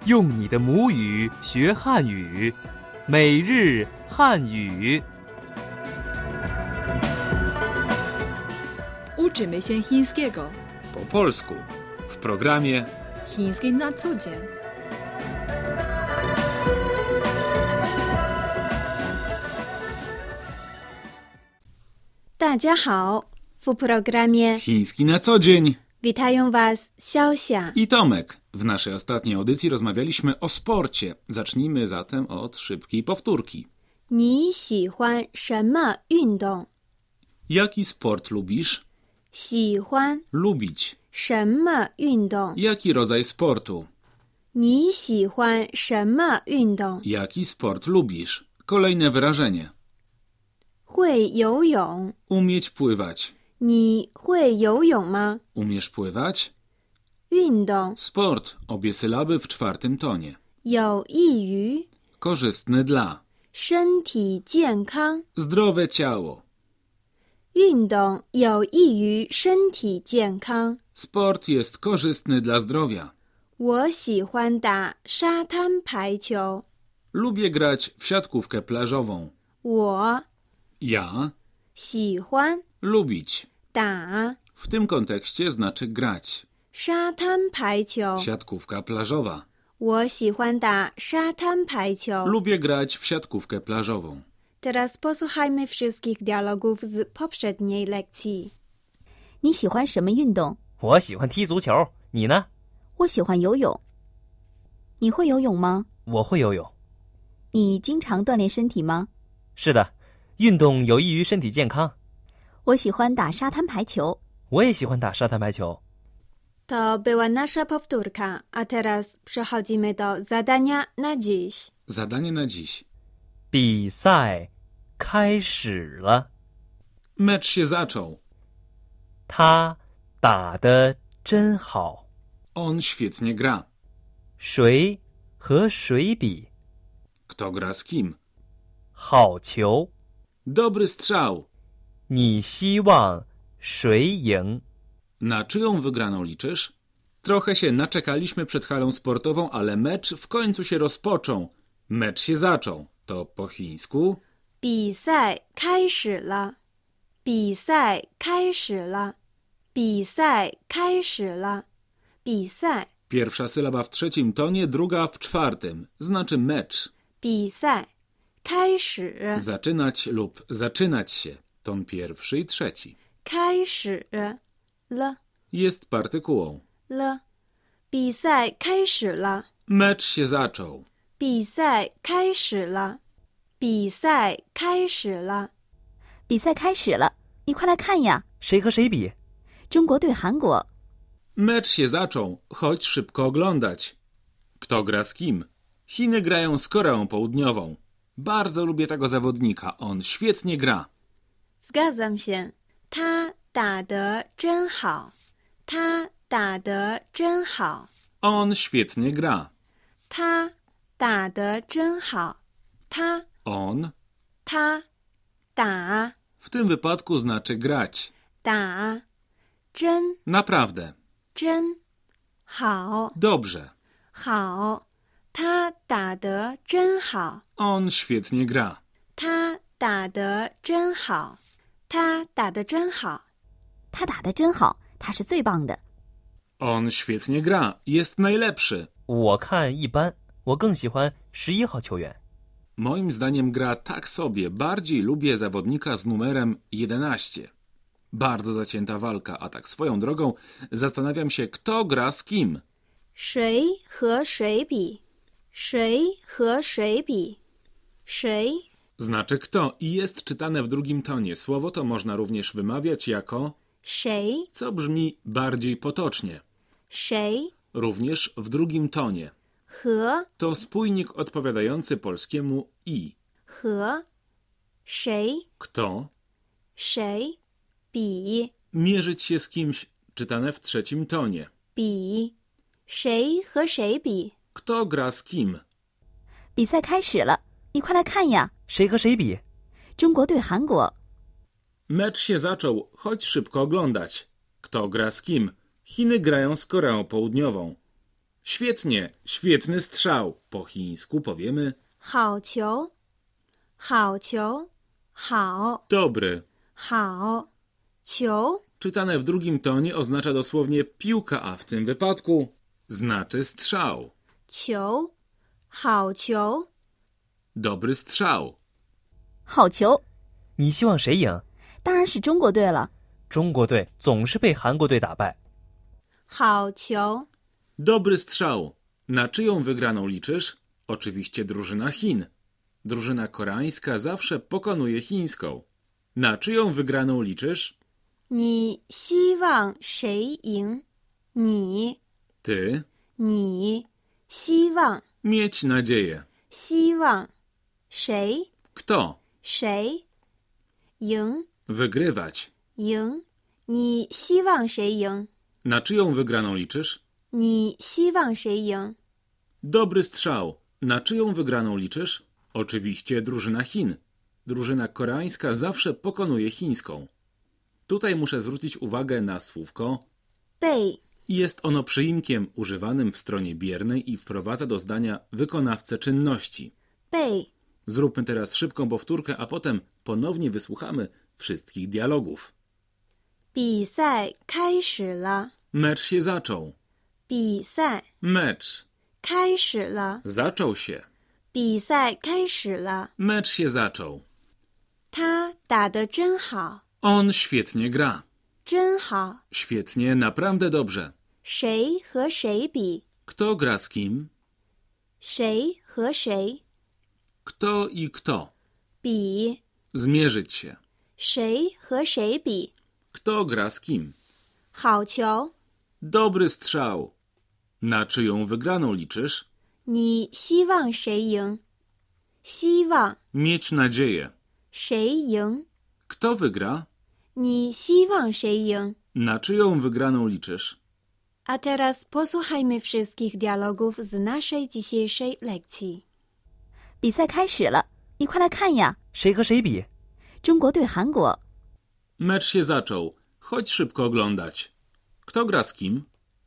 用你的母语学汉语，每日汉语。 Uczymy się chińskiego. Po polsku w programie Chiński na co dzień. W programie Chiński na co dzień witają Was Xiaoxia i Tomek. W naszej ostatniej audycji rozmawialiśmy o sporcie. Zacznijmy zatem od szybkiej powtórki. 你喜欢什么运动？ Jaki sport lubisz? 喜欢 Lubić. 什么运动？ Jaki rodzaj sportu? 你喜欢什么运动？ Jaki sport lubisz? Kolejne wyrażenie. 会游泳。 Umieć pływać. 你会游泳吗？ Umiesz pływać? 运动 Sport. Obie sylaby w czwartym tonie. 有益于 Korzystny dla. 身体健康。 Zdrowe ciało. 运动有益于身体健康。 Sport jest korzystny dla zdrowia. 我喜欢打沙滩排球。 Lubię grać w siatkówkę plażową. 我 Ja 喜欢 lubić. 打 W tym kontekście znaczy grać. 沙滩排球。 Siatkówka plażowa. 我喜欢打沙滩排球。 Lubię grać w siatkówkę plażową. Teraz posłuchajmy wszystkich dialogów z poprzedniej lekcji. 你喜欢什么运动？ 我喜欢踢足球，你呢？ 我喜欢游泳。你会游泳吗？ 我会游泳。 你经常锻炼身体吗？ 是的，运动有益于身体健康。 我喜欢打沙滩排球。 我也喜欢打沙滩排球。 To była nasza powtórka, a teraz przechodzimy do zadania na dziś. Zadanie na dziś. 比赛开始了， Mecz się zaczął. 他打得真好。 On świetnie gra. 谁和谁比？ Kto gra z kim? 好球！ Dobry strzał. 你希望谁赢？ Na czyją wygraną liczysz? Trochę się naczekaliśmy przed halą sportową, ale mecz w końcu się rozpoczął. Mecz się zaczął. To po chińsku. 比赛开始了，比赛开始了，比赛开始了，比赛 Pierwsza sylaba w trzecim tonie, druga w czwartym. Znaczy mecz. 比赛开始 Zaczynać lub zaczynać się. Ton pierwszy i trzeci. 开始了 Jest partykułą. 了，比赛开始了， Mecz się zaczął. 比赛开始了，比赛开始了。 比赛开始了，你快来看呀！ 谁和谁比？ 中国对韩国。 Mecz się zaczął. Chodź szybko oglądać. Kto gra z kim? Chiny grają z Koreą Południową. Bardzo lubię tego zawodnika. On świetnie gra. Zgadzam się. 他打得真好，他打得真好， On świetnie gra. 他打得真好，他 On 打 w tym wypadku znaczy grać. 打真 Naprawdę. 真好 Dobrze. 好，他打得真好， On świetnie gra. 他打得真好，他打得真好。 他打得真好，他是最棒的。 On świetnie gra. Jest najlepszy. 我看一般，我更喜欢11号球员。 Moim zdaniem gra tak sobie. Bardziej lubię zawodnika z numerem 11. Bardzo zacięta walka, a tak swoją drogą zastanawiam się, kto gra z kim. 谁和谁比？谁和谁比？谁 Znaczy kto i jest czytane w drugim tonie. Słowo to można również wymawiać jako 谁 co brzmi bardziej potocznie. 谁 Również w drugim tonie. 和 To spójnik odpowiadający polskiemu i. 和谁 Kto? 谁比 Mierzyć się z kimś, czytane w trzecim tonie. 比谁和谁比？ Kto gra z kim? 比赛开始了，你快来看呀！ 谁和谁比？ 中国对韩国。 Mecz się zaczął. Chodź szybko oglądać. Kto gra z kim? Chiny grają z Koreą Południową. Świetnie, świetny strzał. Po chińsku powiemy 好球，好球，好， dobry. 好，球， Czytane w drugim tonie oznacza dosłownie piłka, a w tym wypadku znaczy strzał. 球，好球， Dobry strzał. 好球， 你希望谁赢？ 当然是中国队了。 中国队总是被韩国队打败。 好球， Dobry strzał. Na czyją wygraną liczysz? Oczywiście drużyna Chin. Drużyna koreańska zawsze pokonuje chińską. Na czyją wygraną liczysz? 你希望谁赢？你， Ty. 你，希望， Mieć nadzieję. 希望，谁？ Kto? 谁？赢， Wygrywać. 赢，你希望谁赢？ Na czyją wygraną liczysz? 你希望谁赢？ Dobry strzał. Na czyją wygraną liczysz? Oczywiście drużyna Chin. Drużyna koreańska zawsze pokonuje chińską. Tutaj muszę zwrócić uwagę na słówko 背， Jest ono przyimkiem używanym w stronie biernej i wprowadza do zdania wykonawcę czynności. 背， Zróbmy teraz szybką powtórkę, a potem ponownie wysłuchamy wszystkich dialogów. 比赛开始了， Mecz się zaczął. 比赛 Mecz. 开始了， Zaczął się. 比赛开始了。 Mecz się zaczął. 他打得真好， On świetnie gra. 真好。 Świetnie, naprawdę dobrze. 谁和谁比？ Kto gra z kim? 谁和谁 Kto i kto? 比？ Zmierzyć się. 谁和谁比？ Kto gra z kim? 好球！ Dobry strzał. Na czyją wygraną liczysz? 你希望谁赢？希望 Mieć nadzieję. 谁赢？ Kto wygra? 你希望谁赢？ Na czyją wygraną liczysz? A teraz posłuchajmy wszystkich dialogów z naszej dzisiejszej lekcji. 比赛开始了，你快来看呀！ 谁和谁比？ 中国对韩国， Mecz się zaczął. Chodź szybko oglądać. Kto gra z kim?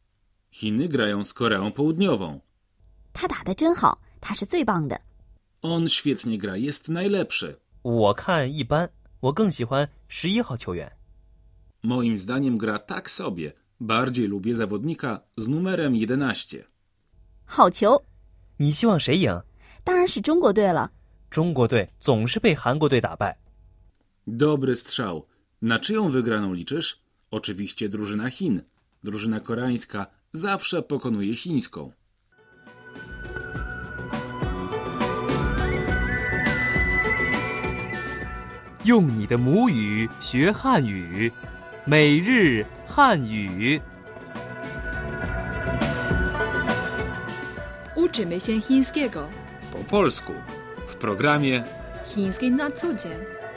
Chiny grają z Koreą Południową. 他打得真好，他是最棒的。 On świetnie gra, jest najlepszy. 我看一般，我更喜欢11号球员。 Moim zdaniem gra tak sobie. Bardziej lubię zawodnika z numerem 11. 好球， 你希望谁赢？ 当然是中国队了。 中国队总是被韩国队打败。 Dobry strzał. Na czyją wygraną liczysz? Oczywiście drużyna Chin. Drużyna koreańska zawsze pokonuje chińską. 用你的母语学汉语，每日汉语。 Uczymy się chińskiego. Po polsku. W programie Chiński na co dzień.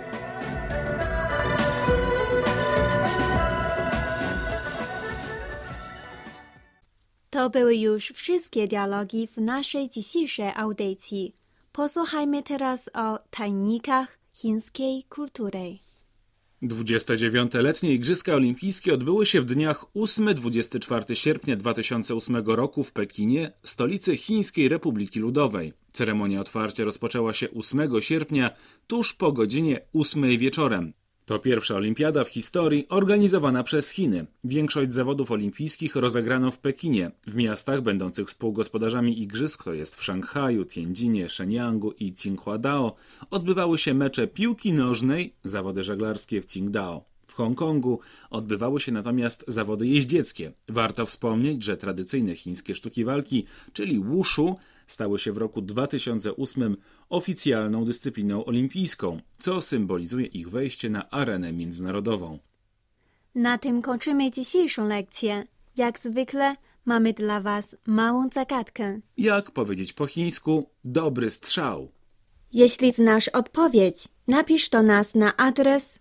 To były już wszystkie dialogi w naszej dzisiejszej audycji. Posłuchajmy teraz o tajnikach chińskiej kultury. 29-letnie Igrzyska Olimpijskie odbyły się w dniach 8-24 sierpnia 2008 roku w Pekinie, stolicy Chińskiej Republiki Ludowej. Ceremonia otwarcia rozpoczęła się 8 sierpnia, tuż po godzinie 8 wieczorem. To pierwsza olimpiada w historii organizowana przez Chiny. Większość zawodów olimpijskich rozegrano w Pekinie. W miastach będących współgospodarzami igrzysk, to jest w Szanghaju, Tianjinie, Shenyangu i Tsinghua-dao, odbywały się mecze piłki nożnej, zawody żeglarskie w Qingdao. W Hongkongu odbywały się natomiast zawody jeździeckie. Warto wspomnieć, że tradycyjne chińskie sztuki walki, czyli wushu, stały się w roku 2008 oficjalną dyscypliną olimpijską, co symbolizuje ich wejście na arenę międzynarodową. Na tym kończymy dzisiejszą lekcję. Jak zwykle mamy dla Was małą zagadkę. Jak powiedzieć po chińsku dobry strzał? Jeśli znasz odpowiedź, napisz do nas na adres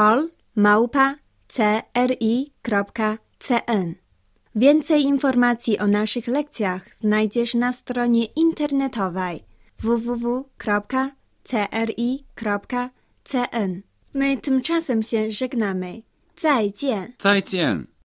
pol@cri.cn. Więcej informacji o naszych lekcjach znajdziesz na stronie internetowej www.cri.cn. My tymczasem się żegnamy. 再见. 再见!